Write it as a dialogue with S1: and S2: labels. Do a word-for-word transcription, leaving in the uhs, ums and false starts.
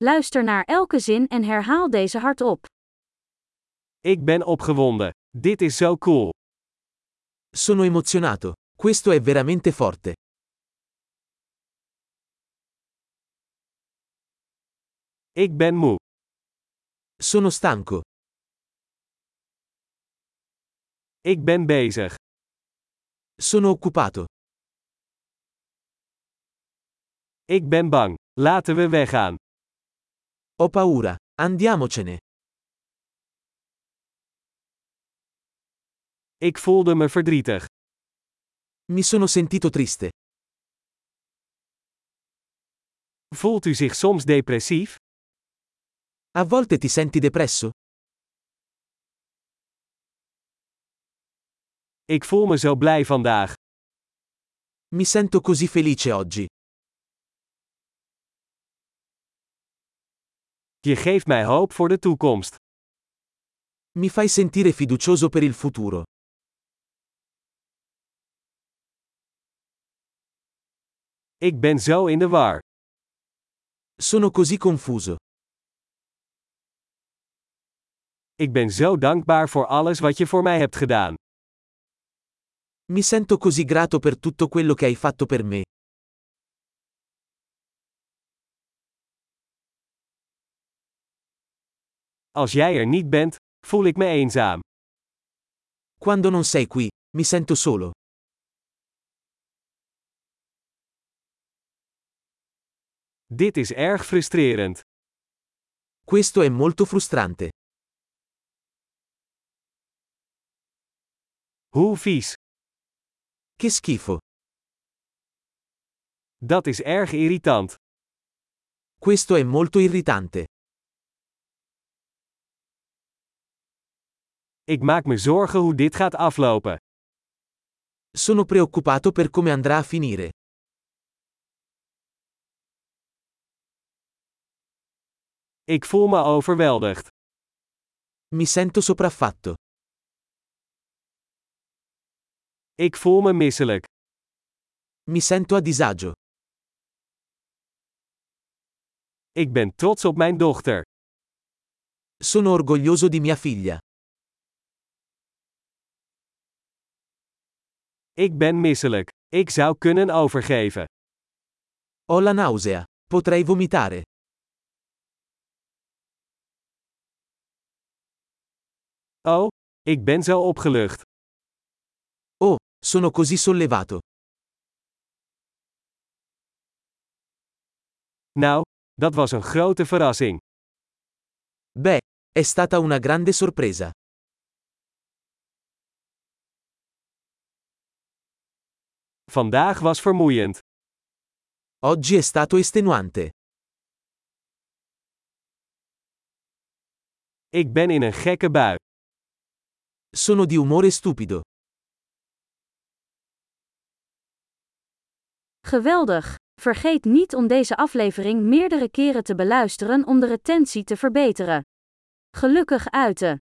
S1: Luister naar elke zin en herhaal deze hardop.
S2: Ik ben opgewonden. Dit is zo cool.
S3: Sono emozionato. Questo è veramente forte.
S2: Ik ben moe.
S3: Sono stanco.
S2: Ik ben bezig.
S3: Sono occupato.
S2: Ik ben bang. Laten we weggaan.
S3: Ho paura. Andiamocene.
S2: Ik voelde me verdrietig.
S3: Mi sono sentito triste.
S2: Voelt u zich soms depressief?
S3: A volte ti senti depresso?
S2: Ik voel me zo blij vandaag.
S3: Mi sento così felice oggi.
S2: Je geeft mij hoop voor de toekomst.
S3: Mi fai sentire fiducioso per il futuro.
S2: Ik ben zo in de war.
S3: Sono così confuso.
S2: Ik ben zo dankbaar voor alles wat je voor mij hebt gedaan.
S3: Mi sento così grato per tutto quello che hai fatto per me.
S2: Als jij er niet bent, voel ik me eenzaam.
S3: Quando non sei qui, mi sento solo.
S2: Dit is erg frustrerend.
S3: Questo è molto frustrante.
S2: Hoe vies.
S3: Che schifo.
S2: Dat is erg irritant.
S3: Questo è molto irritante.
S2: Ik maak me zorgen hoe dit gaat aflopen.
S3: Sono preoccupato per come andrà a finire.
S2: Ik voel me overweldigd.
S3: Mi sento sopraffatto.
S2: Ik voel me misselijk.
S3: Mi sento a disagio.
S2: Ik ben trots op mijn dochter.
S3: Sono orgoglioso di mia figlia.
S2: Ik ben misselijk. Ik zou kunnen overgeven.
S3: Ho la nausea. Potrei vomitare.
S2: Oh, ik ben zo opgelucht.
S3: Oh, sono così sollevato.
S2: Nou, dat was een grote verrassing.
S3: Beh, è stata una grande sorpresa.
S2: Vandaag was vermoeiend.
S3: Oggi è stato estenuante.
S2: Ik ben in een gekke bui.
S3: Sono di umore stupido.
S1: Geweldig! Vergeet niet om deze aflevering meerdere keren te beluisteren om de retentie te verbeteren. Gelukkig uiten!